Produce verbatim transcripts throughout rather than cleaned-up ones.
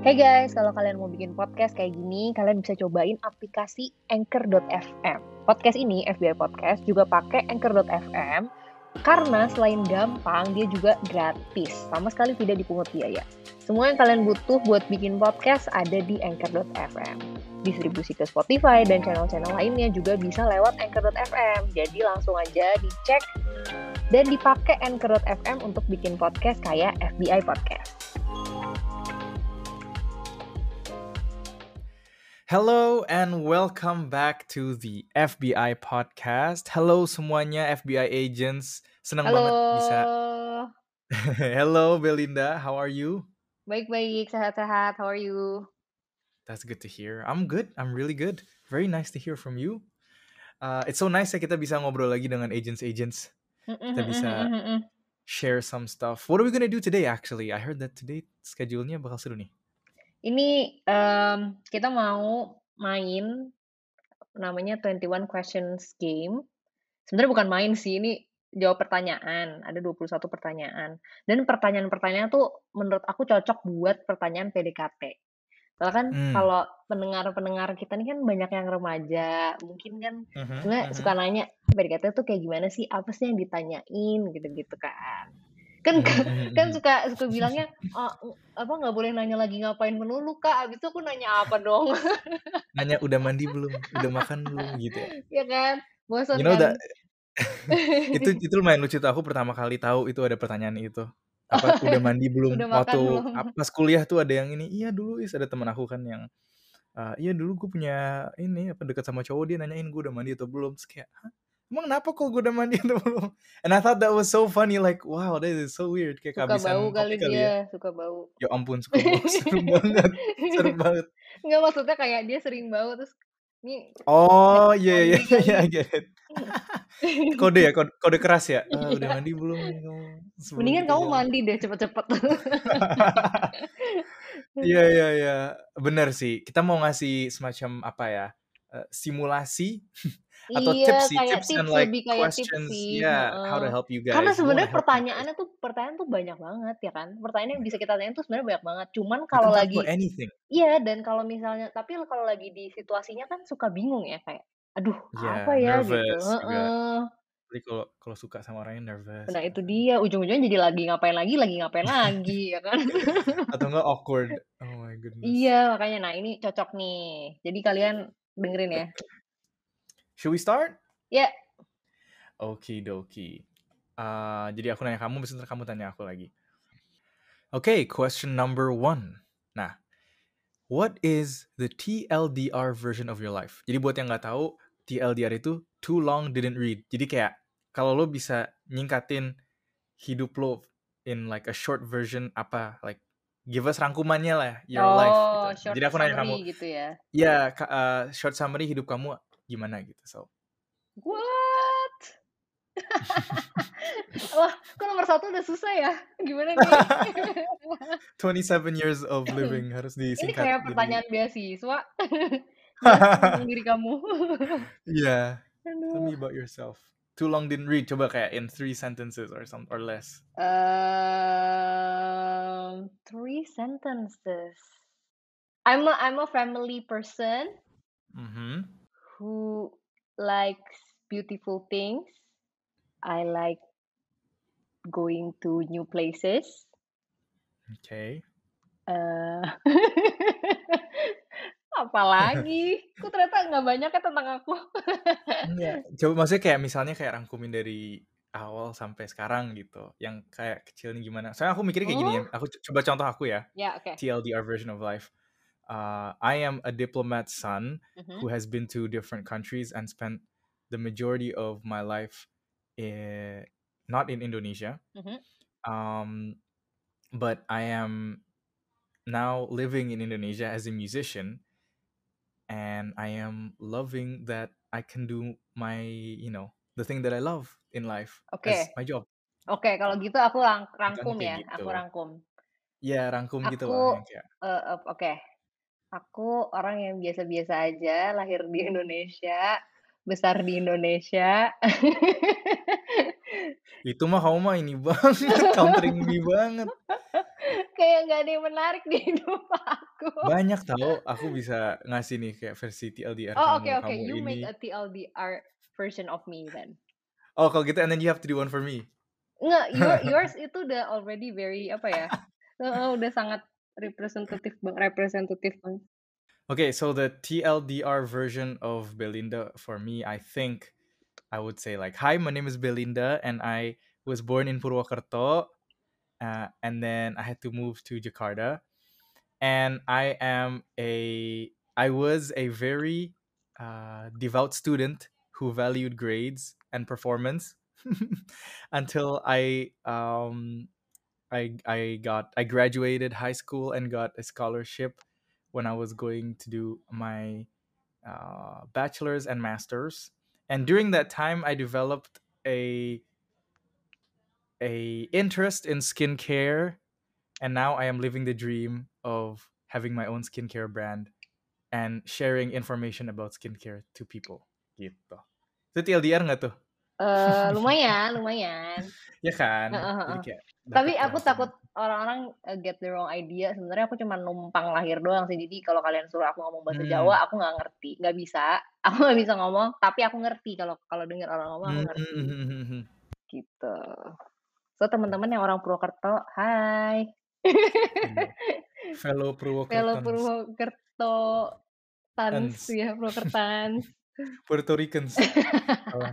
Hey guys, kalau kalian mau bikin podcast kayak gini, kalian bisa cobain aplikasi Anchor dot f m. Podcast ini, F B I Podcast, juga pakai Anchor dot f m karena selain gampang, dia juga gratis. Sama sekali tidak dipungut biaya. Semua yang kalian butuh buat bikin podcast ada di Anchor dot f m. Distribusi ke Spotify dan channel-channel lainnya juga bisa lewat Anchor dot f m. Jadi langsung aja dicek dan dipakai Anchor dot f m untuk bikin podcast kayak F B I Podcast. Hello and welcome back to the F B I Podcast. Hello semuanya F B I agents. Senang Halo. banget bisa. Hello Belinda, how are you? Baik-baik, sehat-sehat. How are you? That's good to hear. I'm good. I'm really good. Very nice to hear from you. Uh, it's so nice ya kita bisa ngobrol lagi dengan agents-agents. Kita bisa share some stuff. What are we gonna do today actually? I heard that today schedule-nya bakal seru nih. Ini um, kita mau main namanya twenty-one questions game. Sebenarnya bukan main sih, ini jawab pertanyaan. Ada dua puluh satu pertanyaan. Dan pertanyaan-pertanyaan tuh menurut aku cocok buat pertanyaan P D K T. Soalnya kan Hmm. kalau pendengar-pendengar kita nih kan banyak yang remaja. Mungkin kan Mhm, sebenarnya mhm. suka nanya, P D K T tuh kayak gimana sih? Apa sih yang ditanyain? Gitu-gitu kan. Kan Mhm, mhm, kan mhm. suka suka bilangnya, "Ah, apa nggak boleh nanya lagi ngapain melulu, Kak." Abis itu aku nanya apa dong? Nanya udah mandi belum? Udah makan belum? Gitu ya. Ya kan? Bosan You know kan? that itu itu lumayan lucu tuh. Aku pertama kali tahu itu ada pertanyaan itu. Apa udah mandi belum? Udah makan Waktu belum? ap- pas kuliah tuh ada yang ini. Iya dulu is ada teman aku kan yang uh, iya dulu gue punya ini apa dekat sama cowok, dia nanyain gue udah mandi atau belum. Terus kayak, hah? Emang kenapa kok gue udah mandi atau belum? And I thought that was so funny, like wow, that is so weird, kayak Suka bau kehabisan kali topik kali ya. dia, suka bau. Ya ampun, suka bau. Seru banget. Seru banget. Nggak, maksudnya kayak dia sering bau terus nih Oh iya iya mandi iya iya, I kali. get it. Kode ya, kode, kode keras ya. "Ah, udah Iya. mandi belum nih kamu sebelum Mendingan kita kamu jalan?" mandi deh cepet-cepet. Iya iya iya, bener sih. Kita mau ngasih semacam apa ya, eh, simulasi atau Iya, tips sih, kayak tips and tips, like lebih kayak tips questions, sih, yeah, how to heeh. help you Karena guys. We wanna sebenarnya help you guys. pertanyaannya tuh pertanyaan tuh banyak banget ya kan. Pertanyaan yang bisa kita tanyain tuh sebenarnya banyak banget. Cuman You kalau can talk lagi about anything. iya, dan kalau misalnya tapi kalau lagi di situasinya kan suka bingung ya kayak, aduh apa Yeah, ya gitu, nervous juga. heeh. Jadi kalau kalau suka sama orangnya nervous Nah gitu itu kan. dia, ujung-ujungnya jadi lagi ngapain lagi lagi ngapain lagi, ya kan. Atau enggak awkward. Oh my goodness. Iya, makanya nah ini cocok nih. Jadi kalian dengerin ya. Should we start? Ya, Okie dokie. Uh, jadi aku nanya kamu, besok kamu tanya aku lagi. Okay, question number one. Nah, what is the T L D R version of your life? Jadi buat yang nggak tahu, T L D R itu too long didn't read. Jadi kayak kalau lo bisa nyingkatin hidup lo in like a short version apa, like give us rangkumannya lah your life oh gitu. short Jadi aku nanya kamu, summary gitu ya. ya ka- uh, short summary hidup kamu gimana gitu. So, What? Wah, kok nomor satu udah susah ya? Gimana nih? twenty-seven years of living harus Ini disingkat kayak jadi. pertanyaan beasiswa. Jelaskan tentang diri kamu. Yeah. Tell me Aduh. about yourself. Too long didn't read. Coba kayak in three sentences or some or less. Um, three sentences. I'm a I'm a family person Mm-hmm. who likes beautiful things. I like going to new places. Okay. Uh, apalagi? Kok ternyata nggak banyak ya tentang aku. Enggak. Coba maksudnya kayak misalnya kayak rangkumin dari awal sampai sekarang gitu. Yang kayak kecilnya gimana. Soalnya aku mikirnya kayak gini ya. Oh, Aku c- coba contoh aku ya. ya oke. T L D R version of life. Uh, I am a diplomat son Mhm. who has been to different countries and spent the majority of my life in, not in Indonesia. Mhm. Um, but I am now living in Indonesia as a musician, and I am loving that I can do my, you know, the thing that I love in life Oke. as my job. Oke, kalau gitu aku lang- Contohnya rangkum kayak ya. gitu. Aku rangkum. Ya rangkum gitu Aku loh yang kayak. eh, eh, oke. Aku orang yang biasa-biasa aja, lahir di Indonesia, besar di Indonesia. Itu mah kamu mah ini banget, countering me banget. Kayak nggak ada yang menarik di hidup aku. Banyak tahu, aku bisa ngasih nih kayak versi T L D R Oh, oke kamu, oke, kamu you make ini. a T L D R version of me then. Oh, kalau gitu and then you have to do one for me. Enggak, your yours itu udah already very apa ya, heeh, udah sangat representatif bang representatif banget. Okay, so the T L D R version of Belinda for me, I think I would say like, hi, my name is Belinda, and I was born in Purwokerto, uh, and then I had to move to Jakarta, and I am a, I was a very uh, devout student who valued grades and performance until I um I I got I graduated high school and got a scholarship when I was going to do my uh, bachelor's and master's. And during that time, I developed a a interest in skincare, and now I am living the dream of having my own skincare brand and sharing information about skincare to people. Gitu. Itu T L D R nggak tuh? Eee, lumayan lumayan. Ya kan? Heeh Jadi heeh. kayak Tapi dapat aku kerasa takut gitu. orang-orang, eee, get the wrong idea, sebenarnya aku cuma numpang lahir doang sih. Jadi kalau kalian suruh aku ngomong bahasa Hmm. Jawa, aku nggak ngerti, nggak bisa. Aku nggak bisa ngomong, tapi aku ngerti kalau kalau dengar orang ngomong aku Hmm, ngerti, hmm, hmm, hmm. gitu. So teman-teman yang orang Purwokerto, hai. Iya. Fellow Fellow Purwokertans Purwokertans and ya, Purwokertans. Puerto Ricans. Salah.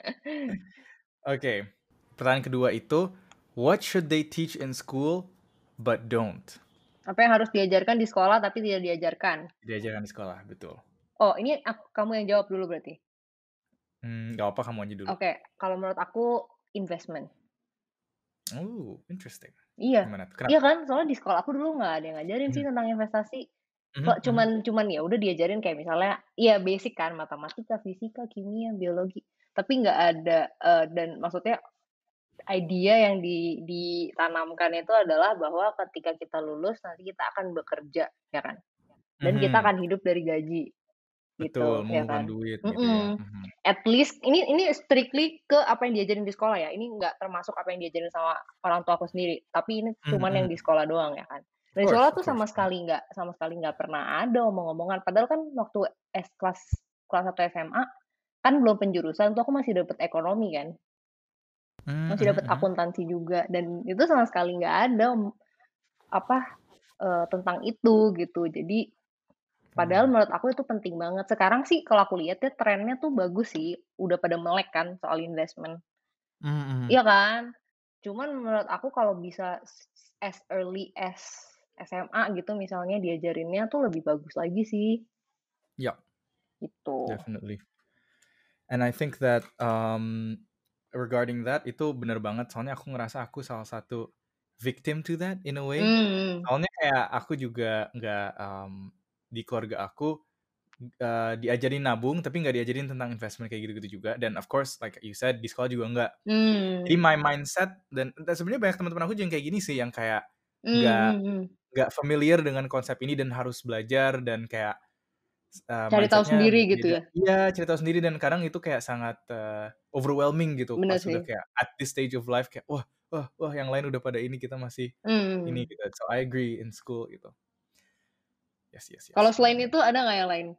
Oke, pertanyaan kedua itu, what should they teach in school but don't? Apa yang harus diajarkan di sekolah tapi tidak diajarkan? Diajarkan di sekolah, betul. Oh, ini ak kamu yang jawab dulu berarti? Hmm, nggak apa kamu aja dulu. Oke, kalau menurut aku investment. Oh, interesting. Iya, Gimana tuh? iya Kenapa? kan, soalnya di sekolah aku dulu nggak ada yang ngajarin sih Mhm, tentang investasi. mhm, Kok mhm, cuman cuman ya udah diajarin kayak misalnya, iya basic kan, matematika, fisika, kimia, biologi, tapi nggak ada, eee, dan maksudnya idea yang di ditanamkan itu adalah bahwa ketika kita lulus nanti kita akan bekerja, ya kan, dan kita mhm. akan hidup dari gaji, Betul, gitu, ya mengumpulkan kan. duit gitu ya. Mhm. Mhm, At least ini ini strictly ke apa yang diajarin di sekolah ya, ini nggak termasuk apa yang diajarin sama orang tua aku sendiri, tapi ini mhm, cuman yang mhm. di sekolah doang ya kan. Of Di course, sekolah of tuh course. sama sekali nggak sama sekali nggak pernah ada omong-omongan, padahal kan waktu es kelas kelas satu S M A, kan belum penjurusan tuh aku masih dapet ekonomi kan, Mhm, masih mhm, dapet mhm. akuntansi juga dan itu sama sekali nggak ada om apa, eee, tentang itu gitu. Jadi padahal Wow. menurut aku itu penting banget. Sekarang sih kalau aku lihat ya trennya tuh bagus sih, udah pada melek kan soal investment, Mhm, mhm. iya kan? Cuman menurut aku kalau bisa s as early as S M A gitu misalnya diajarinnya tuh lebih bagus lagi sih, Yeah, gitu. definitely. And I think that um, regarding that itu bener banget. Soalnya aku ngerasa aku salah satu victim to that in a way. Mmm, Soalnya kayak aku juga nggak um, di keluarga aku uh, diajarin nabung, tapi nggak diajarin tentang investment kayak gitu-gitu juga. Dan of course, like you said, di sekolah juga nggak. Jadi mmm, my mindset dan, dan sebenarnya banyak teman-teman aku juga yang kayak gini sih, yang kayak mmm, nggak mhm mhm. nggak familiar dengan konsep ini dan harus belajar dan kayak Eee, Cari tahu mindset-nya sendiri gitu beda ya? iya, cerita sendiri dan kadang itu kayak sangat, eee, overwhelming gitu pas Bener udah sih. kayak at this stage of life kayak, "Wah wah wah yang lain udah pada ini, kita masih ini," Mmm. gitu. So, I agree in school gitu. Yes, yes, Kalau yes, selain benar-benar. itu ada nggak yang lain?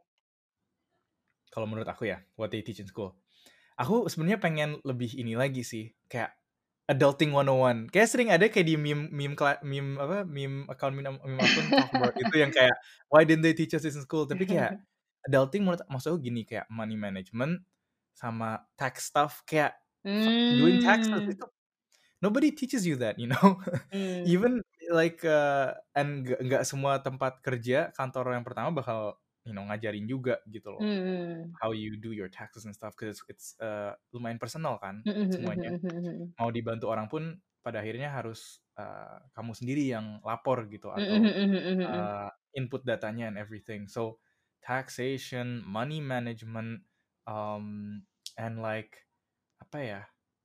Kalau menurut aku ya, what they teach in school. Aku sebenarnya pengen lebih ini lagi sih, kayak adulting one oh one. Kayak sering ada kayak di meme meme kela meme apa, meme account meme meme akun talk about itu yang kayak, "Why didn't they teach us this in school?" Tapi kayak adulting menurut maksud aku gini, kayak money management sama tax stuff, kayak f doing taxes Mmm, itu nobody teaches you that, you know? mmm, Even like, eee, and nggak nggak semua tempat kerja, kantor yang pertama bakal, you know, ngajarin juga gitu loh. mhm. How you do your taxes and stuff, 'cause it's, eee, lumayan personal kan Mhm mhm semuanya. mhm mhm mhm. Mau dibantu orang pun pada akhirnya harus, eee, kamu sendiri yang lapor gitu Mhm atau, mhm mhm mhm. eee, input datanya and everything. So, taxation, money management, um, and like apa ya,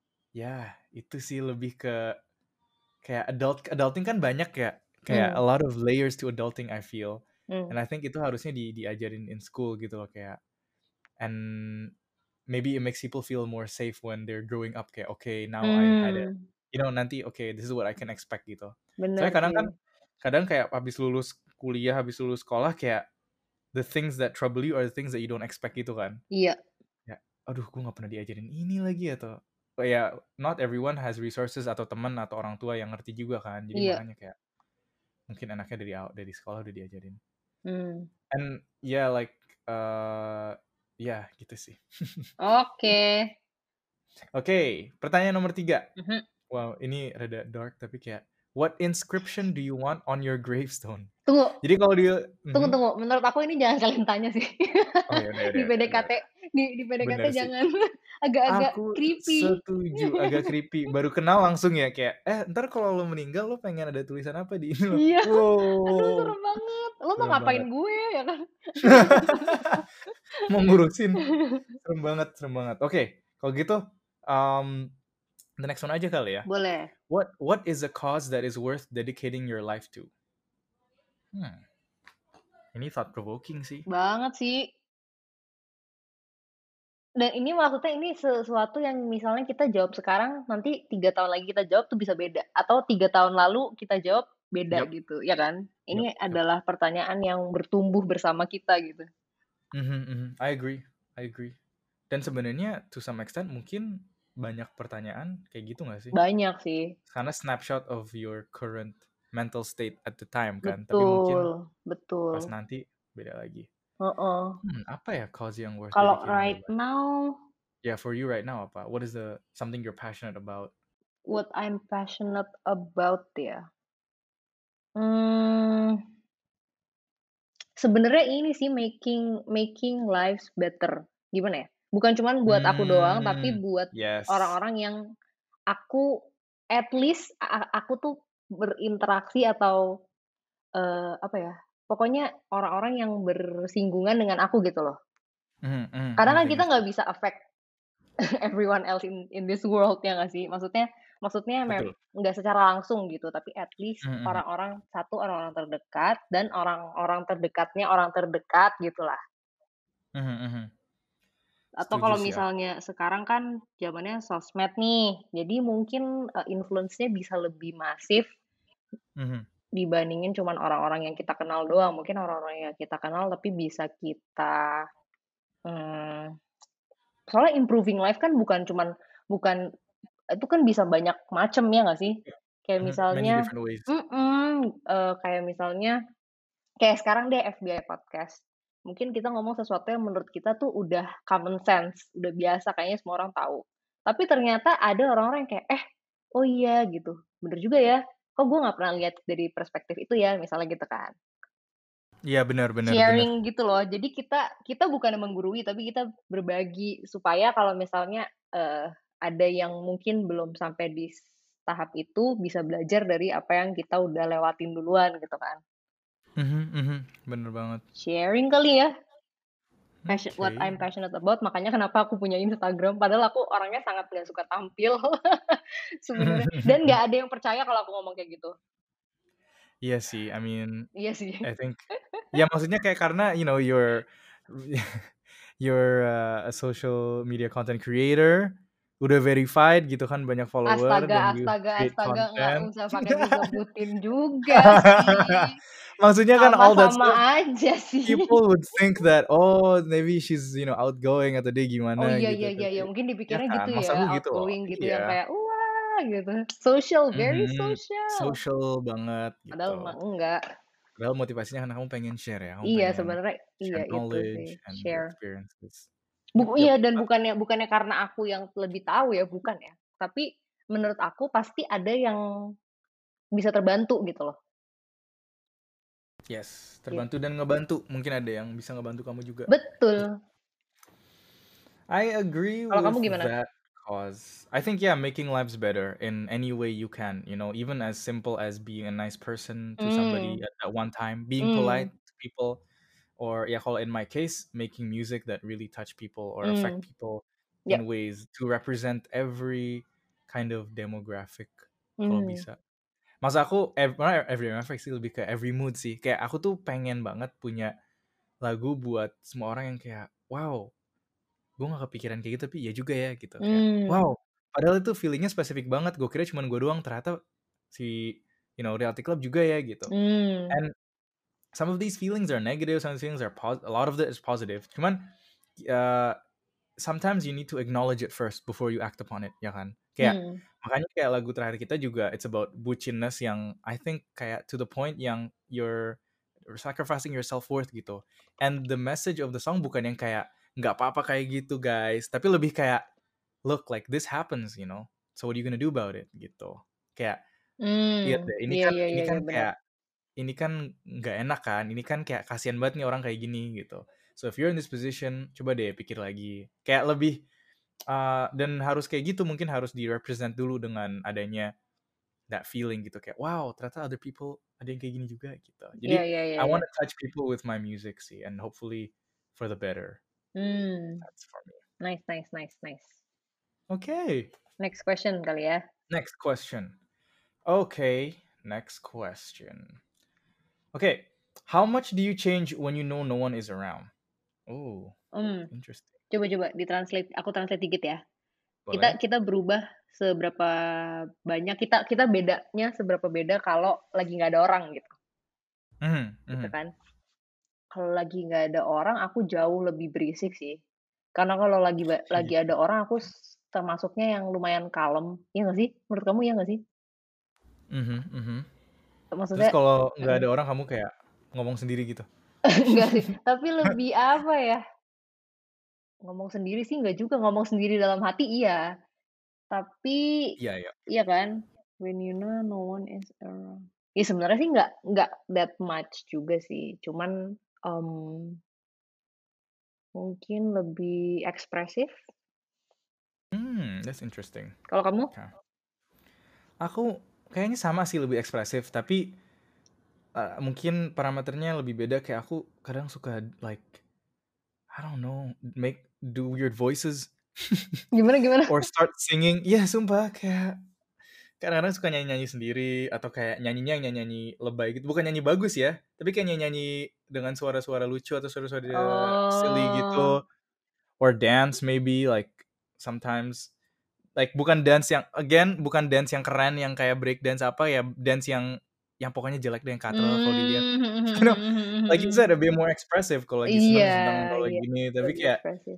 ya itu sih lebih ke kayak adult adulting kan banyak ya, kayak a Mmm, lot of layers to adulting I feel, mmm, and I think itu harusnya di diajarin in school gitu loh kayak and maybe it makes people feel more safe when they're growing up kayak, "Okay, now I had a mmm. you know nanti oke okay, this is what I can expect gitu. Bener Soalnya kadang sih. kan kadang kayak habis lulus kuliah, habis lulus sekolah kayak the things that trouble you are the things that you don't expect gitu kan. Iya. Ya, aduh gue nggak pernah diajarin ini lagi atau ya not everyone has resources atau teman atau orang tua yang ngerti juga kan. Jadi Iya. makanya kayak mungkin anaknya dari dari sekolah udah diajarin. Hmm. And yeah like uh, ya yeah, gitu sih. Oke. Okay. Oke, okay, pertanyaan nomor tiga. Mm-hmm. Wow, ini rada dark tapi kayak what inscription do you want on your gravestone? Tunggu. Jadi kalau dia Tunggu mhm. tunggu, menurut aku ini jangan kalian tanya sih. Oh ya udah Di udah. P D K T, di di P D K T Bener sih. jangan agak-agak Aku creepy. setuju, agak creepy. Baru kenal langsung ya kayak eh ntar kalau lo meninggal lo pengen ada tulisan apa di ini lo? Iya. Wow. Aduh serem banget. Lo mau Serem ngapain banget. gue ya kan? Mau ngurusin. Serem banget, serem banget. Oke, okay, kalau gitu um, the next one aja kali ya. Boleh. What what is a cause that is worth dedicating your life to? Hmm. Ini thought provoking sih. Banget sih. Dan ini maksudnya ini sesuatu yang misalnya kita jawab sekarang, nanti tiga tahun lagi kita jawab tuh bisa beda. Atau tiga tahun lalu kita jawab beda Yep. gitu, ya kan? Ini Yep, yep. adalah pertanyaan yang bertumbuh bersama kita gitu. Mm-hmm, mm-hmm. I agree, I agree. Dan sebenarnya to some extent mungkin banyak pertanyaan kayak gitu nggak sih? Banyak sih. Karena snapshot of your current mental state at the time kan. Betul, tapi mungkin betul. pas nanti beda lagi. Uh-uh. Hmm, apa ya cause yang worth Kalau dedicating right your life? now, Yeah, for you right now apa? What is the something you're passionate about? What I'm passionate about ya. Hmm, sebenarnya ini sih making making lives better. Gimana ya? Bukan cuma buat aku doang, tapi Hmm, buat yes. orang-orang yang aku at least a- aku tuh berinteraksi atau eh, apa ya? Pokoknya orang-orang yang bersinggungan dengan aku gitu loh. Mm, mm, Karena kan ngerti, kita ngerti. nggak bisa affect everyone else in in this world ya nggak sih? Maksudnya maksudnya mem- Betul. nggak secara langsung gitu, tapi at least Mm, mm. orang-orang satu orang-orang terdekat dan orang-orang terdekatnya orang terdekat gitulah. Mhm, mhm. Atau Setuju kalau sih aku. misalnya sekarang kan zamannya sosmed nih, jadi mungkin uh, influence-nya bisa lebih masif Mhm. dibandingin cuman orang-orang yang kita kenal doang. Mungkin orang-orang yang kita kenal tapi bisa kita hmm, soalnya improving life kan bukan cuman bukan itu kan bisa banyak macem ya nggak sih? Kayak Mhm, many misalnya, different ways. mm uh, kayak misalnya, kayak sekarang deh F B I podcast. Mungkin kita ngomong sesuatu yang menurut kita tuh udah common sense, udah biasa kayaknya semua orang tahu. Tapi ternyata ada orang-orang yang kayak, eh, oh iya gitu, bener juga ya. Kok gue nggak pernah lihat dari perspektif itu ya, misalnya gitu kan. Iya benar benar benar. Sharing gitu loh. Jadi kita kita bukan menggurui, tapi kita berbagi supaya kalau misalnya uh, ada yang mungkin belum sampai di tahap itu bisa belajar dari apa yang kita udah lewatin duluan gitu kan. Mhm, mhm, bener banget. Sharing kali ya. Passion, what Okay. I'm passionate about, makanya kenapa aku punya Instagram. Padahal aku orangnya sangat gak suka tampil sebenarnya. Dan gak ada yang percaya kalau aku ngomong kayak gitu. Iya sih, I mean, Iya sih. I think, ya maksudnya kayak karena you know you're you're uh, a social media content creator, udah verified gitu kan, banyak follower dan Astaga, you astaga, create astaga, nggak content. usah pakai disebutin juga sih. Maksudnya kan all that Sama-sama stuff, aja sih. people would think that oh maybe she's you know outgoing atau dia gimana Oh iya gitu. iya iya, Tapi, ya mungkin ya dipikirnya kan, gitu masa ya, lu gitu loh. outgoing gitu yang Iya. kayak wah gitu. Social, very Mhm, social. social banget Padahal gitu. mah enggak. Padahal motivasinya karena kamu pengen share ya, kamu Iya pengen sebenarnya share iya itu sih, knowledge and your share. experiences. Yep, Bu yep. iya dan bukannya bukannya karena aku yang lebih tahu ya, bukan ya. Tapi menurut aku pasti ada yang bisa terbantu gitu loh. Yes, terbantu dan ngebantu. Mungkin ada yang bisa ngebantu kamu juga. Betul. I agree Kalau kamu with gimana? that cause. I think yeah, making lives better in any way you can. You know, even as simple as being a nice person to somebody Hmm. at, at one time, being Hmm. polite to people, or yeah, kalau in my case, making music that really touch people or affect Hmm. people Yep. in ways to represent every kind of demographic kalau Hmm. bisa. Masa aku ev- malah every demographic sih lebih ke every mood sih. Kayak aku tuh pengen banget punya lagu buat semua orang yang kayak wow, gue gak kepikiran kayak gitu tapi ya juga ya gitu. Kayak Hmm. wow, Padahal itu feeling-nya spesifik banget. Gue kira cuman gue doang, ternyata si you know Reality Club juga ya gitu. Hmm. And some of these feelings are negative, some of these feelings are positive. A lot of it is positive. Cuman uh, sometimes you need to acknowledge it first before you act upon it, ya kan? Kayak Hmm. makanya kayak lagu terakhir kita juga it's about bucinness yang I think kayak to the point yang you're sacrificing your self-worth gitu. And the message of the song bukan yang kayak nggak apa-apa kayak gitu guys, tapi lebih kayak look like this happens, you know. So what are you gonna do about it gitu. Kayak iya Hmm. deh, ini Iya kan iya ini iya kan iya benar. kayak ini kan nggak enak kan, ini kan kayak kasihan banget nih orang kayak gini gitu. So if you're in this position, coba deh pikir lagi. Kayak lebih uh, dan harus kayak gitu, mungkin harus di-represent dulu dengan adanya that feeling gitu kayak wow, ternyata other people ada yang kayak gini juga gitu. Iya Jadi iya iya I iya. want to touch people with my music sih and hopefully for the better. Hmm. That's for me. Nice nice nice nice. Okay. Next question kali ya. Next question. Okay, next question. Okay, how much do you change when you know no one is around? Oh, Hmm. interesting. Coba coba ditranslate. Aku translate dikit ya. Kita Boleh? kita berubah seberapa banyak kita kita bedanya seberapa beda kalau lagi nggak ada orang gitu, Mhm, gitu mhm. kan. Kalau lagi nggak ada orang aku jauh lebih berisik sih. Karena kalau lagi ba Oh lagi gitu. ada orang aku s termasuknya yang lumayan kalem, iya nggak sih? Menurut kamu iya nggak sih? Mhm, mhm. Terus Maksudnya kalau nggak mhm, ada orang kamu kayak ngomong sendiri gitu? enggak sih, tapi lebih apa ya, ngomong sendiri sih nggak juga, ngomong sendiri dalam hati iya, tapi Iya, iya. iya kan, when you know no one is around. Ya sebenarnya sih nggak nggak that much juga sih, cuman, mmm, mungkin lebih ekspresif. Hmm, that's interesting. Kalau kamu? Okay. Aku kayaknya sama sih lebih ekspresif, tapi uh, mungkin parameternya lebih beda. Kayak aku kadang suka like I don't know, make do weird voices Gimana gimana? or start singing. Iya, sumpah kayak kadang-kadang suka nyanyi-nyanyi sendiri atau kayak nyanyinya yang nyanyi-nyanyi lebay gitu. Bukan nyanyi bagus ya, tapi kayak nyanyi-nyanyi dengan suara-suara lucu atau suara-suara silly Oh, gitu. Or dance maybe like sometimes like bukan dance yang again bukan dance yang keren yang kayak break dance apa ya, dance yang yang pokoknya jelek deh, yang katro kalau dilihat. mmm, mhm You know, mhm mhm like you mhm. said a bit more expressive kalau lagi Iya seneng seneng kalau lagi iya, gini, tapi lebih kayak ekspresif.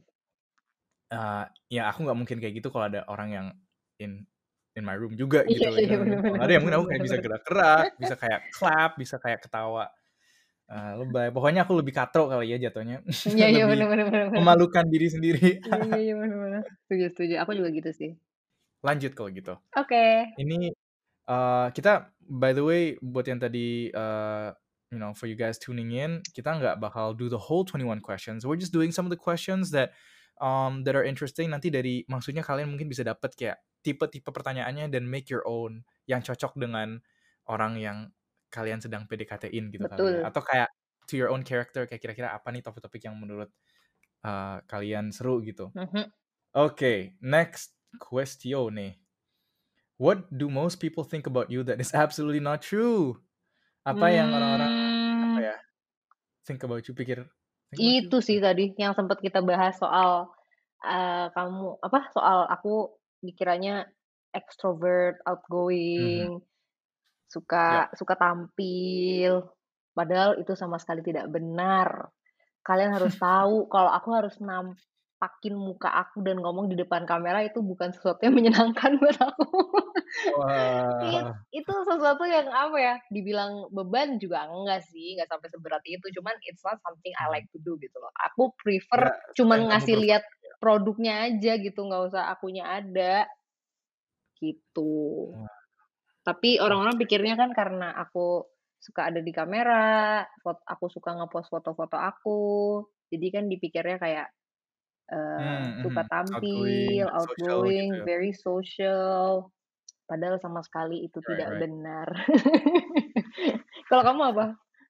eee, ya aku nggak mungkin kayak gitu kalau ada orang yang in in my room juga Iya gitu loh, you iya, know what I bener mean? Kalau bener nggak ada ya bener mungkin aku bener kayak bisa bener. gerak-gerak, bisa kayak clap, bisa kayak ketawa, eee, lebay. Pokoknya aku lebih katro kali ya jatuhnya, Iya iya, bener lebih bener bener bener. memalukan diri sendiri. Iya iya iya, bener bener. Setuju setuju, aku juga gitu sih. Lanjut kalau gitu. Oke. Ini uh, kita by the way buat yang tadi uh, you know for you guys tuning in, kita nggak bakal do the whole twenty-one questions. We're just doing some of the questions that um, that are interesting. Nanti dari maksudnya kalian mungkin bisa dapat kayak tipe-tipe pertanyaannya dan make your own yang cocok dengan orang yang kalian sedang P D K T-in gitu kali ya. Betul. Atau kayak to your own character kayak kira-kira apa nih topik-topik yang menurut uh, kalian seru gitu. Mhm. Oke, okay, next question nih. What do most people think about you that is absolutely not true? Apa yang orang-orang apa Mmm, ya, think about you, pikir think about you? itu sih Ya. tadi yang sempet kita bahas soal, eee, kamu apa, soal aku dikiranya extrovert, Mhm. outgoing, suka Yap. suka tampil, padahal itu sama sekali tidak benar. Kalian harus tahu kalau aku harus nampakin muka aku dan ngomong di depan kamera itu bukan sesuatu yang menyenangkan buat aku. It Wah, itu sesuatu yang apa ya, dibilang beban juga enggak sih, enggak sampai seberat itu, cuman it's not something I mhm. like to do gitu loh. Aku prefer Nggak sesuatu yang cuman kamu ngasih prefer lihat ya? produknya aja gitu, nggak usah akunya ada, gitu. Wah, Tapi orang-orang oke. pikirnya kan karena aku suka ada di kamera, fot aku suka nge-post foto-foto aku, jadi kan dipikirnya kayak, eee, Mmm, suka mhm. Outgoing, tampil, social gitu outgoing, ya? very social, padahal sama sekali itu Right, tidak right. benar. Kalau kamu apa?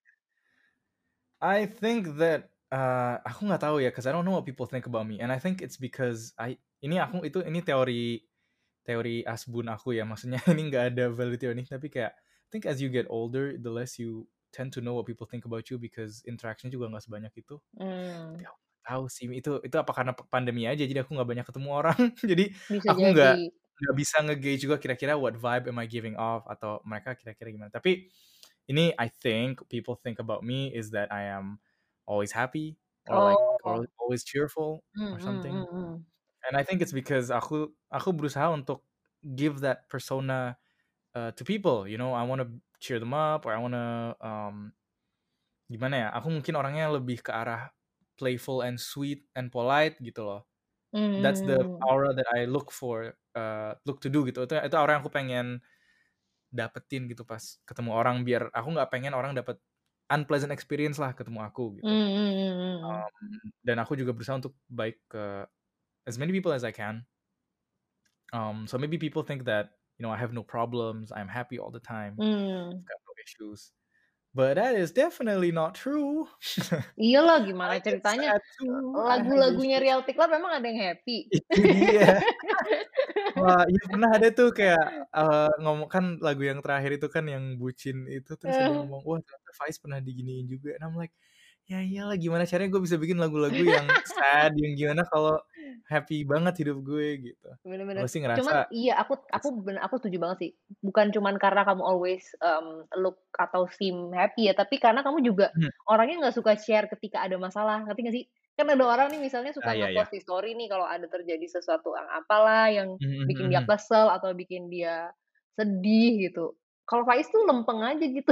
I think that, eee, aku nggak tahu ya, 'cause I don't know what people think about me, and I think it's because I ini aku itu ini teori teori asbun aku ya, maksudnya ini nggak ada validity or anything, tapi kayak I think as you get older, the less you tend to know what people think about you because interaction juga nggak sebanyak itu. Tapi Mmm, aku nggak tahu sih, itu itu apa karena p pandemi aja, jadi aku nggak banyak ketemu orang, jadi bisa aku nggak jadi. nggak bisa nge-gauge juga kira-kira what vibe am I giving off atau mereka kira-kira gimana. Tapi ini I think people think about me is that I am always happy or like or Oh. always cheerful Hmm, or hmm, something. hmm, hmm. And I think it's because aku aku berusaha untuk give that persona uh, to people, you know, I want to cheer them up or I want to um gimana ya? Aku mungkin orangnya lebih ke arah playful and sweet and polite gitu loh. That's the Hmm. aura that I look for, uh, look to do gitu. Itu itu aura yang aku pengen dapetin gitu pas ketemu orang biar aku nggak pengen orang dapet unpleasant experience lah ketemu aku gitu. Hmm, hmm, hmm, hmm. Um, dan aku juga berusaha untuk baik ke as many people as I can. Um, so maybe people think that you know I have no problems, I'm happy all the time, Hmm. I've got no issues. But that is definitely not true. Iyalah, I gimana get ceritanya? sad too. I have Lagu-lagunya issues. Real Tiklat memang ada yang happy. Itu dia. Wah, iya pernah ada tuh kayak uh, ngomong kan lagu yang terakhir itu kan yang bucin itu terus ada yang Eh. ngomong, wah ternyata Faiz pernah diginiin juga. And I'm like, ya iyalah gimana caranya gue bisa bikin lagu-lagu yang sad, yang gimana kalau happy banget hidup gue gitu. Bener-bener. Gue sih Cuman ngerasa iya aku aku bener aku setuju banget sih. Bukan cuman karena kamu always um, look atau seem happy ya, tapi karena kamu juga hmm, orangnya nggak suka share ketika ada masalah. Ngerti nggak sih? Kan ada orang nih misalnya ah suka iya ya. nge-post di story nih kalau ada terjadi sesuatu yang apalah yang bikin dia kesel atau bikin dia sedih gitu. Kalau Faiz tuh lempeng aja gitu.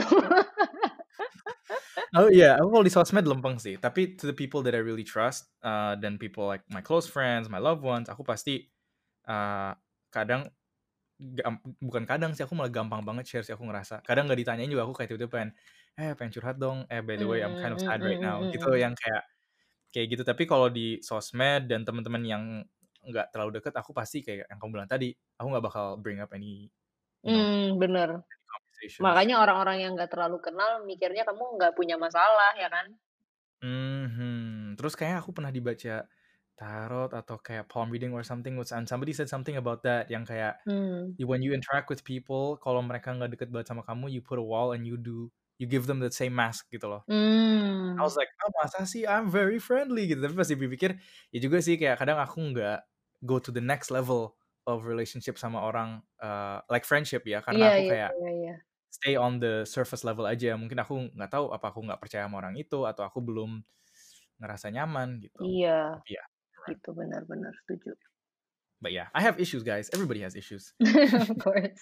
Oh iya, aku kalau di sosmed lempeng sih. Tapi to the people that I really trust, uh, dan people like my close friends, my loved ones, aku pasti uh, kadang gam- bukan kadang sih, aku malah gampang banget share sih aku ngerasa. Kadang nggak ditanyain juga aku kayak tiba-tiba pengen, eh pengen curhat dong. Eh by the way, I'm kind Mmm, of mhm, sad right now. mhm, Gitu mhm. yang kayak kayak gitu. Tapi kalau di sosmed dan teman-teman yang nggak terlalu deket, aku pasti kayak yang kamu bilang tadi, aku nggak bakal bring up any, you know, Mmm, bener. conversations. Makanya orang-orang yang nggak terlalu kenal mikirnya kamu nggak punya masalah, ya kan? Mhm. Terus kayaknya aku pernah dibaca tarot atau kayak palm reading or something, which and somebody said something about that yang kayak Mmm. when you interact with people, kalau mereka nggak deket banget sama kamu, you put a wall and you do you give them the same mask gitu loh. I Mmm. was like, oh masa sih I'm very friendly gitu. Tapi pas dipikir, ya juga sih kayak kadang aku nggak go to the next level of relationship sama orang, uh, like friendship ya, karena Iya, aku iya, kayak iya, iya. stay on the surface level aja. Mungkin aku nggak tahu apa aku nggak percaya sama orang itu atau aku belum ngerasa nyaman gitu. Iya, Tapi ya, you're right. gitu, benar benar, setuju. But yeah, I have issues guys. Everybody has issues. Of course.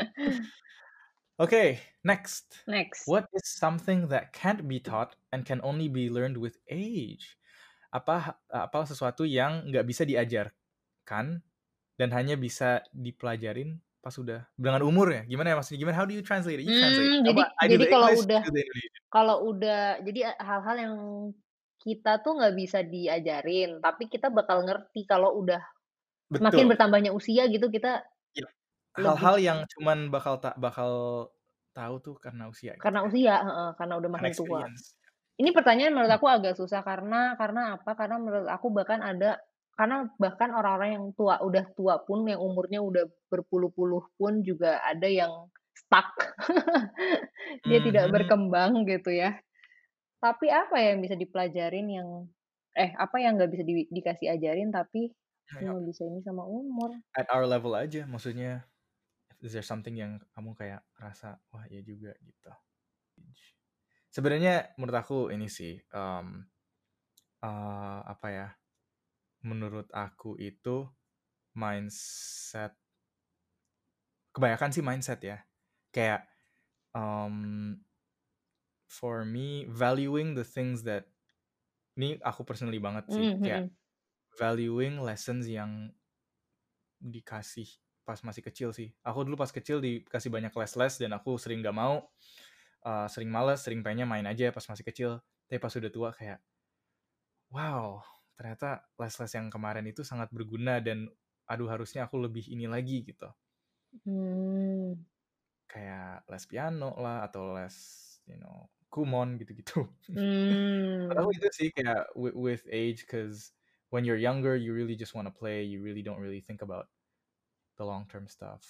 Okay, next. Next. What is something that can't be taught and can only be learned with age? Apa apa sesuatu yang nggak bisa diajarkan dan hanya bisa dipelajarin pas udah dengan umur ya? Gimana ya maksudnya? Gimana? How do you translate it? You translate. Mmm, jadi Apa I do jadi the kalau English, udah you do the Indonesian. kalau udah jadi e hal-hal yang kita tuh nggak bisa diajarin, tapi kita bakal ngerti kalau udah semakin Betul. bertambahnya usia gitu, kita Yap. lebih Hal-hal yang cuman bakal tak bakal tahu tuh karena usia gitu karena ya. usia heeh, karena udah Karena makin tua. experience. Ini pertanyaan menurut Hmm. aku agak susah karena karena apa, karena menurut aku bahkan ada karena bahkan orang-orang yang tua udah tua pun yang umurnya udah berpuluh-puluh pun juga ada yang stuck. Dia tidak Mhm. berkembang gitu ya. Tapi apa ya yang bisa dipelajarin yang eh, apa yang nggak bisa di dikasih ajarin tapi Ya, ya. cuma bisa ini sama umur. At our level aja maksudnya. Is there something yang kamu kayak rasa, wah ya juga gitu. Sebenarnya menurut aku ini sih, um, uh, apa ya? Menurut aku itu mindset. Kebanyakan sih mindset ya. Kayak um, for me valuing the things that ini aku personally banget sih Mhm, kayak mhm. valuing lessons yang dikasih pas masih kecil sih. Aku dulu pas kecil dikasih banyak les-les dan aku sering gak mau, uh, sering males, sering pengennya main aja pas masih kecil. Tapi pas udah tua kayak, wow, ternyata les-les yang kemarin itu sangat berguna dan aduh harusnya aku lebih ini lagi gitu. Mmm. Kayak les piano lah atau les, you know, kumon gitu-gitu. Menurut aku Mmm. itu sih kayak with, with age, cause when you're younger you really just wanna play, you really don't really think about the long term stuff.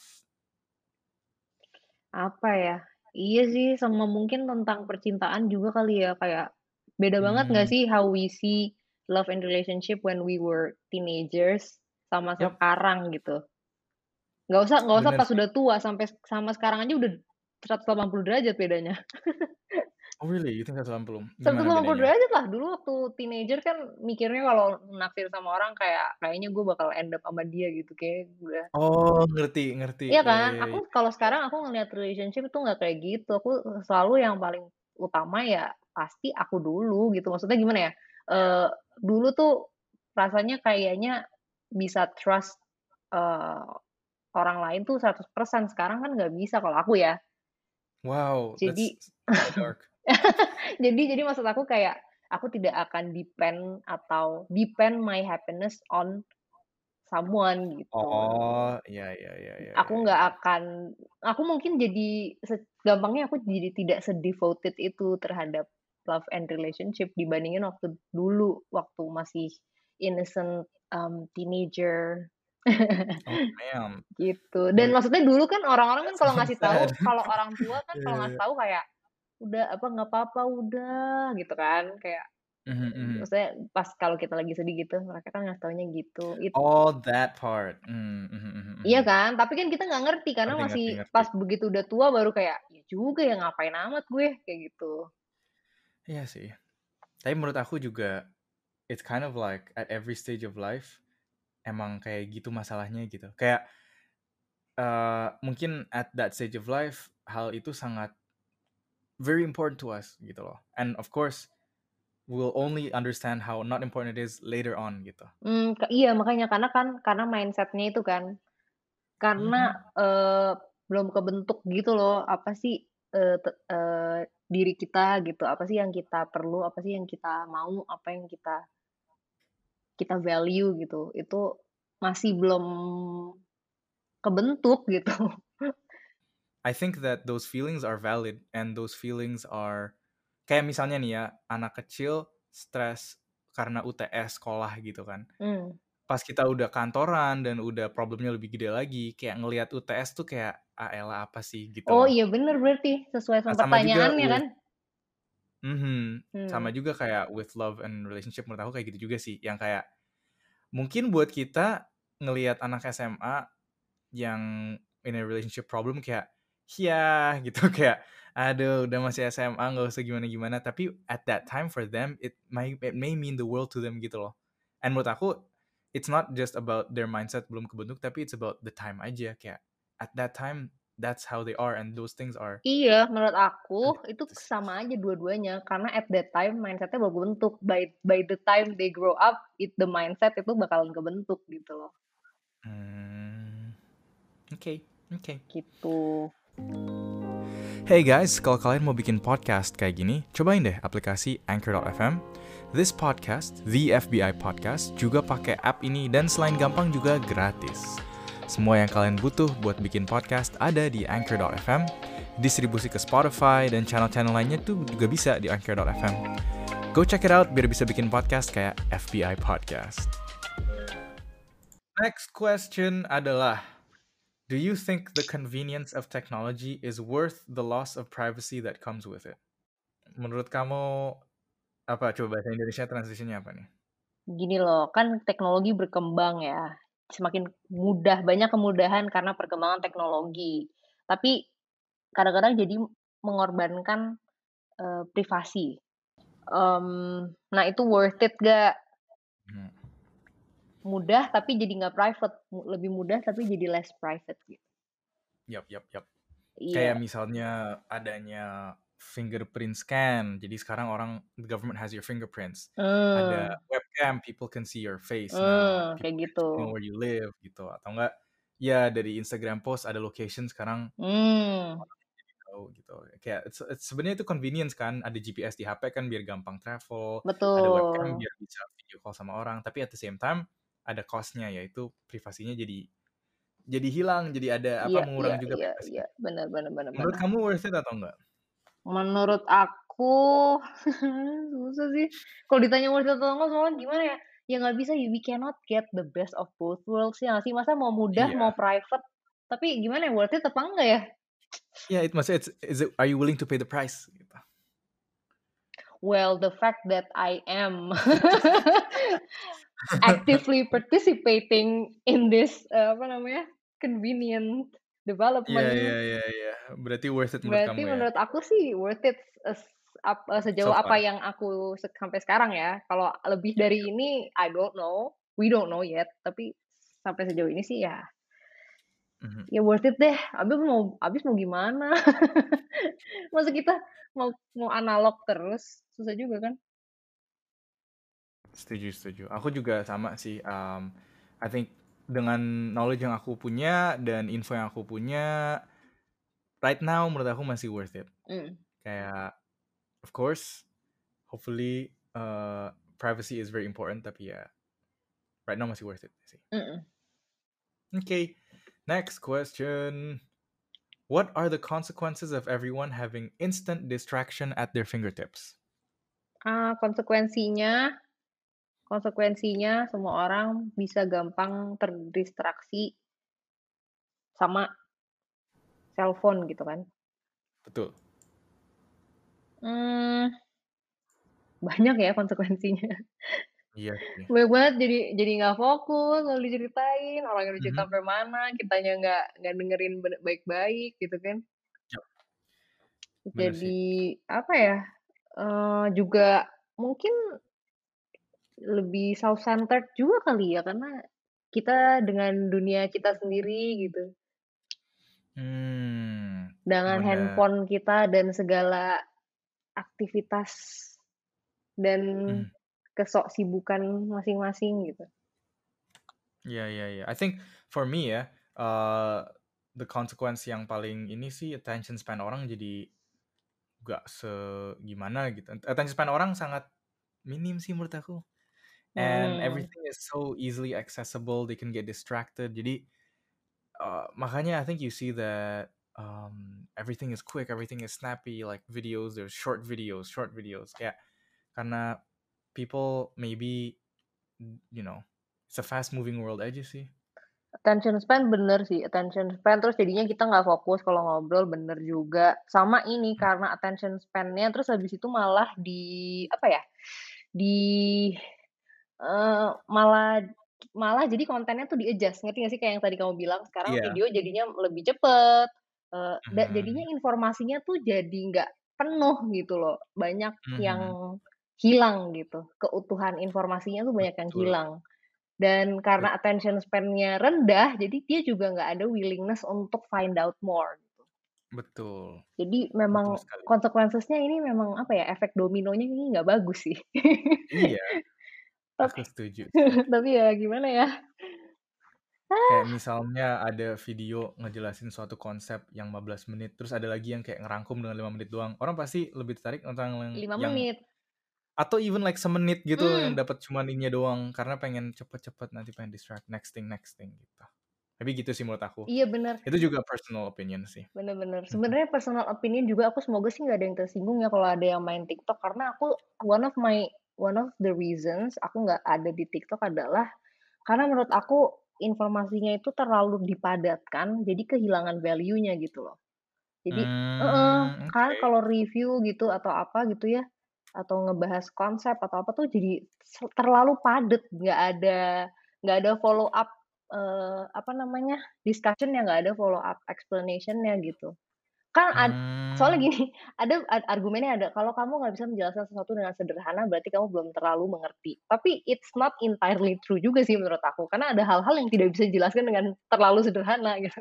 Apa ya, iya sih sama mungkin tentang percintaan juga kali ya, kayak beda banget nggak Hmm, sih how we see love and relationship when we were teenagers sama yep. sekarang gitu. Nggak usah nggak usah Bener pas sih. udah tua, sampai sama sekarang aja udah seratus delapan puluh derajat bedanya. Oh really? You think seratus delapan puluh? seratus Gimana delapan puluh bedanya? derajat lah, dulu waktu teenager kan mikirnya kalau naksir sama orang kayak kayaknya gue bakal end up sama dia gitu, kayak udah Oh, ngerti ngerti. iya Ya kan? ya Aku ya. kalau sekarang aku ngelihat relationship itu nggak kayak gitu, aku selalu yang paling utama ya pasti aku dulu gitu. Maksudnya gimana ya, eee, dulu tuh rasanya kayaknya bisa trust, eee, orang lain tuh seratus persen, sekarang kan nggak bisa kalau aku ya. Wow, that's Jadi kinda dark. jadi jadi maksud aku kayak, aku tidak akan depend atau depend my happiness on someone gitu. Oh, iya iya iya iya Aku iya nggak iya. akan aku mungkin jadi se gampangnya aku jadi tidak se-devoted itu terhadap love and relationship dibandingin waktu dulu, waktu masih innocent, mmm, teenager. Oh, damn. Gitu. Dan Well, maksudnya dulu kan orang-orang kan that kalau sounds ngasih tahu, sad. kalau orang tua kan Iya kalau iya ngasih iya. tahu kayak, "Udah apa, nggak apa-apa, udah," gitu kan. Kayak, Mhm mhm. maksudnya pas kalau kita lagi sedih gitu, mereka kan ngasih taunya gitu. It Oh, that part. Mmm, mhm mhm Iya mhm. kan? Tapi kan kita nggak ngerti karena Ngerti masih ngerti ngerti. pas begitu udah tua baru kayak, "Ya juga ya, ngapain amat gue," kayak gitu. Iya sih. Tapi menurut aku juga, it's kind of like at every stage of life, emang kayak gitu masalahnya gitu. Kayak, eee, mungkin at that stage of life, hal itu sangat very important to us gitu loh. And of course, we'll only understand how not important it is later on gitu. Mmm, ke iya makanya karena kan karena mindset-nya itu kan, karena, Mhm. eee, belum kebentuk gitu loh, apa sih, eee, te eee, diri kita gitu, apa sih yang kita perlu, apa sih yang kita mau, apa yang kita kita value gitu, itu masih belum kebentuk gitu. I think that those feelings are valid and those feelings are kayak misalnya nih ya, anak kecil stres karena U T S sekolah gitu kan. Mmm. Pas kita udah kantoran dan udah problemnya lebih gede lagi, kayak ngelihat U T S tuh kayak, "Ah elah apa sih?" Gitu Oh loh. iya bener berarti, sesuai Nah sama sama juga pertanyaannya kan? with mhm, sama Mmm. juga kayak with love and relationship menurut aku kayak gitu juga sih, yang kayak mungkin buat kita ngelihat anak S M A yang in a relationship problem kayak, "Yah," gitu kayak, "Aduh udah masih S M A nggak usah gimana-gimana." Tapi at that time for them it may it may mean the world to them gitu loh. And menurut aku it's not just about their mindset belum kebentuk, tapi it's about the time aja kayak at that time that's how they are and those things are Iya, menurut aku itu unfixed. sama aja dua-duanya, karena at that time mindset-nya belum kebentuk, by by the time they grow up, it the mindset itu bakalan kebentuk gitu loh, Hmm, oke oke. gitu. Hey guys, kalau kalian mau bikin podcast kayak gini, cobain deh aplikasi Anchor dot F M. This podcast, The F B I Podcast, juga pakai app ini dan selain gampang juga gratis. Semua yang kalian butuh buat bikin podcast ada di Anchor dot F M, distribusi ke Spotify dan channel-channel lainnya tuh juga bisa di Anchor dot F M. Go check it out biar bisa bikin podcast kayak F B I Podcast. Next question adalah, do you think the convenience of technology is worth the loss of privacy that comes with it? Menurut kamu, apa coba bahasa Indonesia translation-nya apa nih? Gini loh, kan teknologi berkembang ya, semakin mudah, banyak kemudahan karena perkembangan teknologi. Tapi kadang-kadang jadi mengorbankan, eee, privasi. Mmm, nah itu worth it nggak? Hmm. Mudah tapi jadi nggak private, mu lebih mudah tapi jadi less private gitu. Yap yap yap. Kayak Iya, misalnya adanya fingerprint scan. Jadi sekarang orang the government has your fingerprints. Ada mmm, webcam, people can see your face now. mmm, kayak People gitu. actually know where you live gitu. Atau enggak ya dari Instagram post ada location sekarang Mmm, tahu gitu. Kayak it's, it's, sebenarnya itu convenience kan, ada G P S di H P kan biar gampang travel, ada webcam betul. biar bisa video call sama orang. Tapi at the same time ada cost-nya yaitu privasinya jadi jadi hilang, jadi ada apa Iya iya mengurangi juga iya iya, privasinya. bener bener bener Menurut bener. kamu worth it atau enggak? Menurut aku susah sih, kalau ditanya worth it atau enggak soalnya gimana ya, ya nggak bisa, we cannot get the best of both worlds ya nggak sih? Masa mau mudah, mau Iya. private, tapi gimana ya, worth it apa enggak ya? Iya, it maksudnya it's, is it, are you willing to pay the price? Gitu. Well, the fact that I am actively participating in this, eee, apa namanya, convenient Iya development. iya iya iya. Berarti worth it menurut Berarti kamu ya? menurut aku sih worth it es ap eee, So sejauh apa far? yang aku sek sampai sekarang ya. Kalau lebih Yap dari yap. ini I don't know, we don't know yet, tapi sampai sejauh ini sih ya Mhm. ya worth it deh. Habis mau habis mau gimana? Masa kita mau mau analog terus, susah juga kan? Setuju setuju. Aku juga sama sih, um, I think dengan knowledge yang aku punya dan info yang aku punya, right now menurut aku masih worth it. Mmm. Kayak of course, hopefully, uh, privacy is very important, tapi ya right now masih worth it sih. Mhm. Okay, next question. What are the consequences of everyone having instant distraction at their fingertips? Ah, konsekuensinya konsekuensinya semua orang bisa gampang terdistraksi sama cellphone gitu kan. Betul. Mmm, banyak ya konsekuensinya. Iya sih. Banyak banget jadi jadi nggak fokus, lalu diceritain, orangnya udah cerita Mhm. sampai mana, kitanya nggak nggak dengerin bene baik-baik gitu kan. Yap, bener sih. Jadi apa ya, eee, juga mungkin lebih self-centered juga kali ya, karena kita dengan dunia kita sendiri gitu, Hmm, dengan bener. handphone kita dan segala aktivitas dan Mhm. kesoksibukan masing-masing gitu. Iya iya iya. I think for me ya, uh, the consequence yang paling ini sih attention span orang jadi gak segimana gitu. Attention span orang sangat minim sih menurut aku. And Hmm. everything is so easily accessible, they can get distracted. Jadi uh, makanya I think you see that um, everything is quick, everything is snappy, like videos, there's short videos, short videos. Kayak karena people maybe, you know, it's a fast moving world aja sih. Attention span bener sih, attention span, terus jadinya kita nggak fokus kalau ngobrol, bener juga. Sama ini, karena attention span-nya terus habis itu malah di apa ya, di eee, malah malah jadi kontennya tuh di-adjust, ngerti nggak sih? Kayak yang tadi kamu bilang, sekarang Iya. video jadinya lebih cepet, eee, da jadinya Mhm. informasinya tuh jadi nggak penuh gitu loh, banyak yang Mhm. hilang gitu, keutuhan informasinya tuh banyak yang Betul, hilang. Dan karena betul, attention span-nya rendah, jadi dia juga nggak ada willingness untuk find out more gitu. betul, Jadi betul memang sekali. consequences-nya ini memang apa ya, efek dominonya ini nggak bagus sih. Iya, Tapi aku setuju sih. tapi ya gimana ya, Kayak misalnya ada video ngejelasin suatu konsep yang lima belas menit, terus ada lagi yang kayak ngerangkum dengan lima menit doang. Orang pasti lebih tertarik nonton yang lima yang menit. atau even like semenit gitu yang Mmm, dapat cuman ininya doang karena pengen cepet-cepet nanti pengen distract next thing next thing gitu. Tapi gitu sih menurut aku. iya bener, Itu juga personal opinion sih. bener bener. Mhm. Sebenarnya personal opinion juga, aku semoga sih nggak ada yang tersinggung ya kalau ada yang main TikTok, karena aku one of my one of the reasons aku nggak ada di TikTok adalah karena menurut aku informasinya itu terlalu dipadatkan, jadi kehilangan value-nya gitu loh. Jadi heeh, Mmm, kan oke. kalau review gitu atau apa gitu ya, atau ngebahas konsep atau apa tuh jadi se terlalu padat, nggak ada nggak ada follow up, eee, apa namanya, discussion-nya, nggak ada follow up explanation-nya gitu. Kan ad soalnya Mmm, gini, ada ad argumennya ada, kalau kamu nggak bisa menjelaskan sesuatu dengan sederhana, berarti kamu belum terlalu mengerti. Tapi it's not entirely true juga sih menurut aku, karena ada hal-hal yang tidak bisa dijelaskan dengan terlalu sederhana gitu.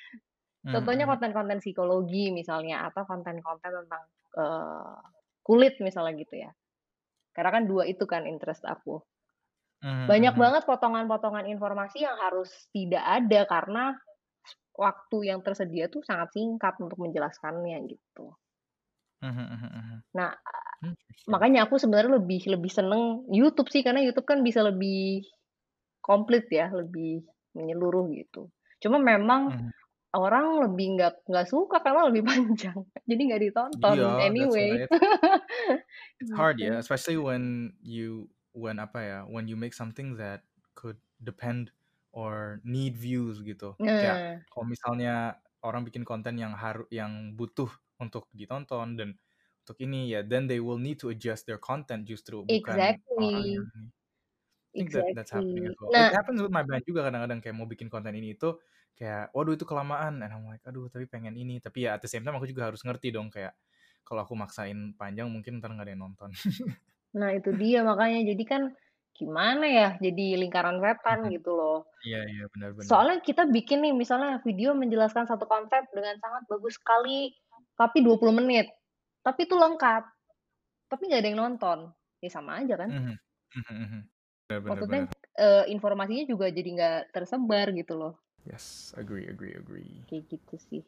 mhm Contohnya mhm. konten-konten psikologi misalnya, atau konten-konten tentang, eee, kulit misalnya gitu ya. Karena kan dua itu kan interest aku. Mhm Banyak mhm. banget potongan-potongan informasi yang harus tidak ada karena waktu yang tersedia tuh sangat singkat untuk menjelaskannya gitu. Mhm mhm mhm. Nah, Interesting. makanya aku sebenarnya lebih lebih seneng YouTube sih, karena YouTube kan bisa lebih komplit ya, lebih menyeluruh gitu. Cuma memang Mhm. orang lebih nggak nggak suka karena lebih panjang, jadi nggak ditonton Iya, that's anyway. why it's it's hard ya, Gitu. especially when you when apa ya, when you make something that could depend or need views gitu. Kayak Nah, kalau misalnya orang bikin konten yang haru yang butuh untuk ditonton dan untuk ini ya, then they will need to adjust their content justru bukan orang yang exactly, ini. I think that that's happening as exactly. well. It Nah, happens with my band juga kadang-kadang kayak mau bikin konten ini itu, kayak waduh itu kelamaan, and I'm like aduh tapi pengen ini, tapi ya at the same time aku juga harus ngerti dong kayak kalau aku maksain panjang mungkin ntar nggak ada yang nonton. Nah itu dia makanya, jadi kan gimana ya, jadi lingkaran setan Mhm. gitu loh. Iya iya, benar benar. Soalnya kita bikin nih misalnya video menjelaskan satu konsep dengan sangat bagus sekali, tapi dua puluh menit, tapi itu lengkap, tapi nggak ada yang nonton, ya sama aja kan? Mhm, mhm mhm. Benar benar Maksudnya, benar. eee, informasinya juga jadi nggak tersebar gitu loh, Yes, agree agree agree. kayak gitu sih.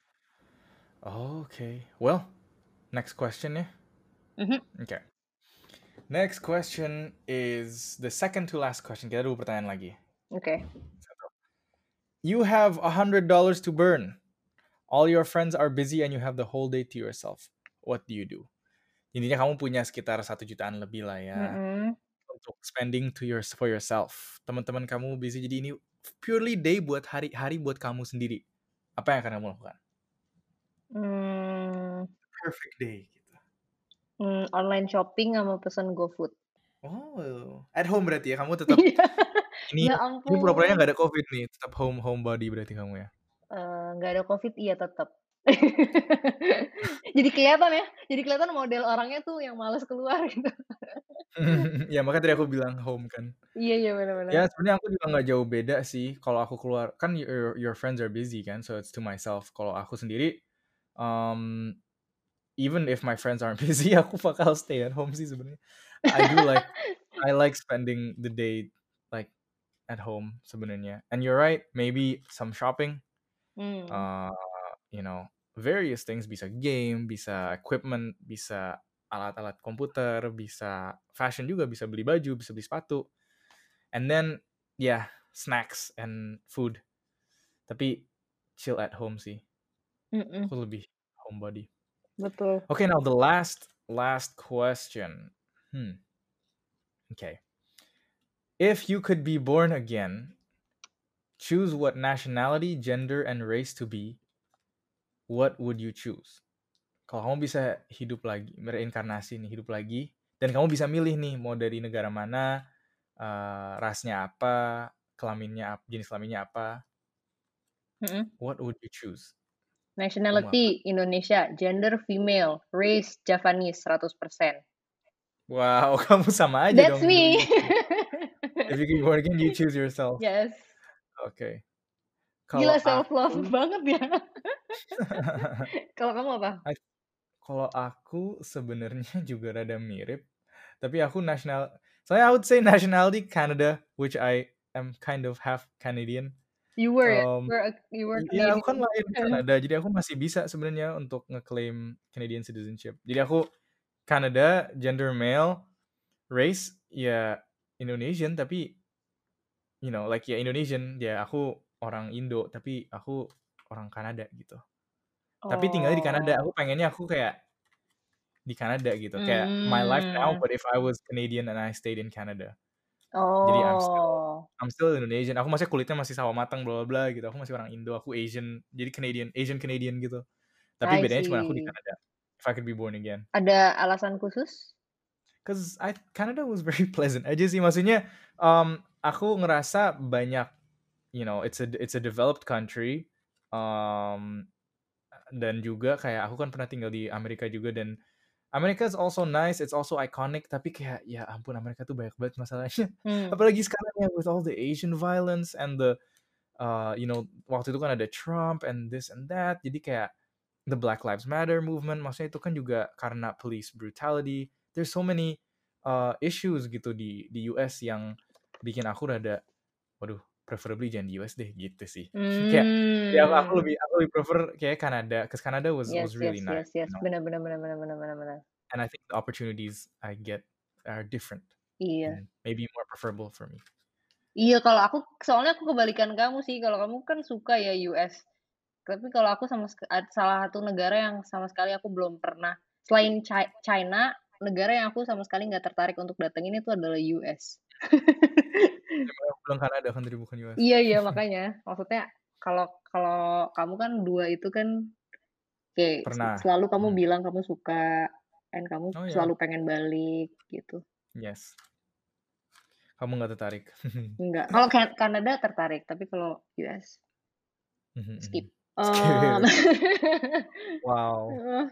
Okay, well, next question ya. Mhm, Okay. Next question is the second to last question. Kita dua pertanyaan lagi. oke. You have a hundred dollars to burn. All your friends are busy and you have the whole day to yourself. What do you do? Intinya kamu punya sekitar satu jutaan lebih lah ya Mhm, untuk spending to your for yourself. Teman-teman kamu busy, jadi ini purely day buat hari-hari buat kamu sendiri. Apa yang akan kamu lakukan? mmm, Perfect day gitu. mmm, online shopping sama pesen GoFood. Oh, at home berarti ya kamu tetap Iya, ini ya ini pura-puranya ampun, nggak ada COVID nih, tetap home homebody berarti kamu ya. eee, nggak ada Covid iya tetep. Jadi kelihatan ya, jadi kelihatan model orangnya tuh yang males keluar gitu. Ya makanya tadi aku bilang home kan. Iya iya, bener bener. Ya sebenarnya aku juga nggak jauh beda sih kalau aku keluar kan your your friends are busy kan, so it's to myself. Kalau aku sendiri, um, even if my friends aren't busy, aku bakal stay at home sih sebenarnya. I do like I like spending the day like at home sebenarnya. And you're right, maybe some shopping, Mmm, uh, you know, various things, bisa game, bisa equipment, bisa alat-alat komputer, bisa fashion juga, bisa beli baju, bisa beli sepatu. And then yeah, snacks and food. Tapi chill at home sih. mhm, Aku lebih homebody. betul. Okay, now the last last question. Hmm. Okay. If you could be born again, choose what nationality, gender, and race to be, what would you choose? Kalau kamu bisa hidup lagi, mereinkarnasi nih, hidup lagi, dan kamu bisa milih nih mau dari negara mana, eh, rasnya apa, kelaminnya apa, jenis kelaminnya apa, Mhm. what would you choose? Kamu apa? Nationality Indonesia, gender female, race Javanese seratus persen. Wow, kamu sama aja That's dong me. milihnya. If you could be born again, you choose yourself. Yes. Oke. Gila Kalau self love aku, banget ya. Kalau kamu apa? I- kalau aku sebenarnya juga rada mirip, tapi aku national. Soalnya I would say nationality Canada, which I am kind of half Canadian. You were ya? You Um, were a you were ya aku kan Canadian. lahir di Kanada, jadi aku masih bisa sebenarnya untuk ngeklaim Canadian citizenship. Jadi aku Canada, gender male, race ya Indonesian, tapi you know like ya Indonesian, ya aku orang Indo, tapi aku orang Kanada gitu. Tapi tinggalnya di Kanada, aku Oh. pengennya aku kayak di Kanada gitu. Kayak my life now, Mmm. but if I was Canadian and I stayed in Canada. Jadi I'm still Oh. I'm still Indonesian. Aku masih kulitnya masih sawo matang bla bla bla gitu. Aku masih orang Indo, aku Asian. Jadi Canadian, Asian Canadian gitu. Tapi I bedanya cuma aku di see. Kanada. If I could be born again. Ada alasan khusus? Cause I Canada was very pleasant aja sih. Maksudnya um, aku ngerasa banyak, you know, it's a it's a developed country. Um, dan juga kayak aku kan pernah tinggal di Amerika juga, dan Amerika is also nice, it's also iconic, tapi kayak ya ampun Amerika tuh banyak banget masalahnya. Mmm. Apalagi sekarang ya with all the Asian violence and the uh, you know, waktu itu kan ada Trump and this and that. Jadi kayak the Black Lives Matter movement, maksudnya itu kan juga karena police brutality. There's so many uh, issues gitu di di U S yang bikin aku rada waduh, preferably jangan di U S deh gitu sih. Kayak ya aku aku Mmm. lebih aku lebih prefer kayak Canada, cause Canada was Yes was yes really nice, yes yes. you know. Benar benar benar benar benar benar benar. And I think the opportunities I get are different Iya. and maybe more preferable for me. Iya, kalau aku soalnya aku kebalikan kamu sih, kalau kamu kan suka ya U S. Tapi kalau aku sama sek ad salah satu negara yang sama sekali aku belum pernah selain Chi China, negara yang aku sama sekali nggak tertarik untuk datengin itu adalah U S. Emang aku bilang Kanada kan tadi bukan U S. Iya iya, makanya. Maksudnya kalau kalau kamu kan dua itu kan kayak se Pernah. selalu kamu Mhm. bilang kamu suka, dan kamu Oh ya, selalu pengen balik gitu. yes. Kamu nggak tertarik. Enggak, kalau Ka Kanada tertarik, tapi kalau U S Mhm, Skip. mhm. Um, Skip. Wow. heeh.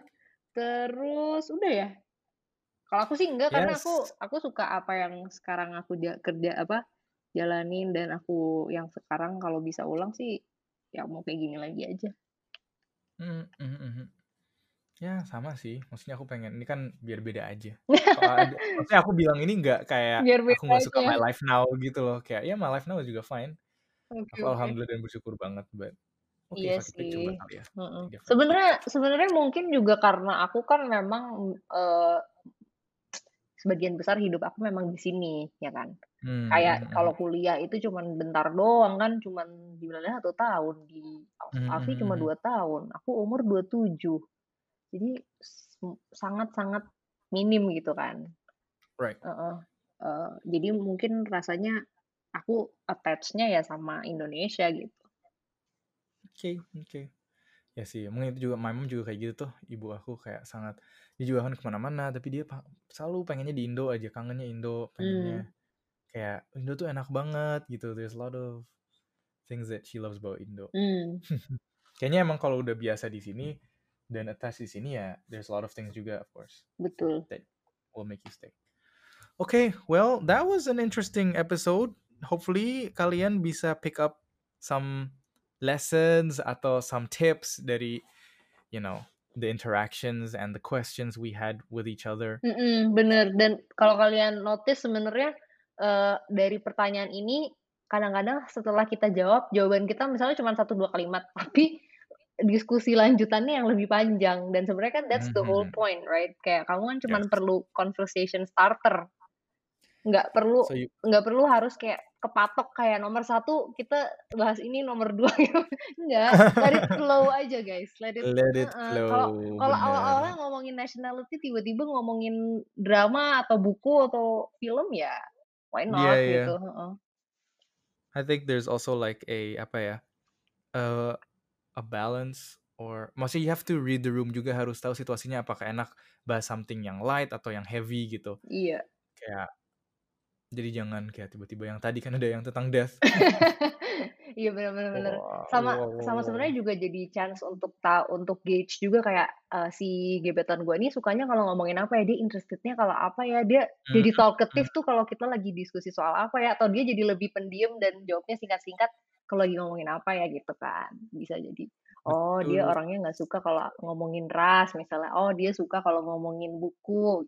Terus udah ya? Kalau aku sih enggak, karena aku Yes. aku suka apa yang sekarang aku ja kerja apa, jalanin dan aku yang sekarang kalau bisa ulang sih, ya mau kayak gini lagi aja. Mmm, mhm, mhm. Ya sama sih, maksudnya aku pengen ini kan biar beda aja. Kalau ada maksudnya aku bilang ini nggak kayak Biar aku beda nggak suka aja. my life now gitu loh, kayak ya my life now juga fine. Oke, Aku oke. alhamdulillah dan bersyukur banget, but oke Iya fuck it, kita coba sih, kali ya, mhm. something different. Sebenarnya sebenarnya mungkin juga karena aku kan memang, eee, sebagian besar hidup aku memang di sini, ya kan. Mmm, Kayak mhm, kalau mhm. kuliah itu cuman bentar doang kan, cuman dibilangnya satu tahun, di Mhm, Aussie mhm, cuma mhm. dua tahun, aku umur dua puluh tujuh. Jadi s sangat-sangat minim gitu kan. Right. Heeh, eee, jadi mungkin rasanya aku attach-nya ya sama Indonesia gitu. Oke, oke. Ya sih, mungkin itu juga my mom juga kayak gitu tuh, ibu aku kayak sangat dia juga kan ke mana-mana, tapi dia pa selalu pengennya di Indo aja, kangennya Indo, Mmm, pengennya kayak Indo tuh enak banget gitu, there's a lot of things that she loves about Indo. mmm, Kayaknya emang kalau udah biasa di sini dan attach di sini ya, there's a lot of things juga of course betul. that will make you stay. Okay, well that was an interesting episode. Hopefully kalian bisa pick up some lessons atau some tips dari you know the interactions and the questions we had with each other. Mhm, bener, dan kalau kalian notice sebenarnya, eee, dari pertanyaan ini kadang-kadang setelah kita jawab, jawaban kita misalnya cuma satu, dua kalimat, tapi diskusi lanjutannya yang lebih panjang dan sebenarnya kan that's the whole Mhm. point, right? Kayak kamu kan cuman Yes. perlu conversation starter, nggak perlu So you nggak perlu harus kayak kepatok kayak nomor satu kita bahas ini, nomber dua gitu, enggak, let it flow aja guys, let it let it heeh, kalau flow, kalau awal-awalnya bener. ngomongin nationality tiba-tiba ngomongin drama atau buku atau film ya why Iya, not iya. gitu, heeh. I think there's also like a apa ya? Uh, a balance or maksudnya you have to read the room juga harus tahu situasinya apakah enak bahas something yang light atau yang heavy gitu. Iya. Kayak jadi jangan kayak tiba-tiba yang tadi kan ada yang tentang death. Iya, bener, bener, bener. Wah, Sama wow, wow, sama wow. sebenarnya juga jadi chance untuk ta untuk gauge juga kayak, eee, si gebetan gue ini sukanya kalau ngomongin apa ya, dia interestednya kalau apa ya, dia Mhm, jadi mhm. talkative tuh kalau kita lagi diskusi soal apa ya, atau dia jadi lebih pendiam dan jawabnya singkat-singkat kalau lagi ngomongin apa ya, gitu kan. Bisa jadi, oh dia Betul. orangnya nggak suka kalau ngomongin ras misalnya, oh dia suka kalau ngomongin buku,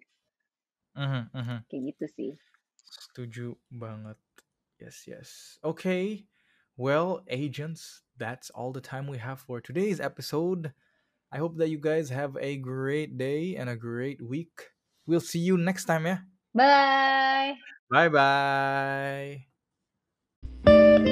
Mhm, mhm. kayak gitu sih. Setuju banget. Yes, yes. Okay. Well, agents, that's all the time we have for today's episode. I hope that you guys have a great day and a great week. We'll see you next time, yeah? Bye. Bye bye.